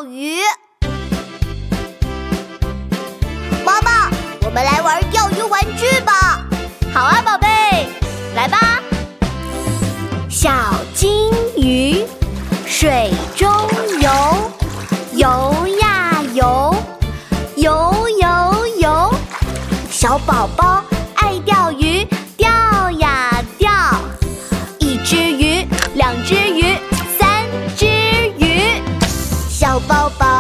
钓鱼。妈妈，我们来玩钓鱼玩具吧。 好啊，宝贝，来吧。 小金鱼水中游，游呀游，游游游。小宝宝爱钓鱼，钓呀钓。一只鱼，两只鱼，三只鱼。小宝宝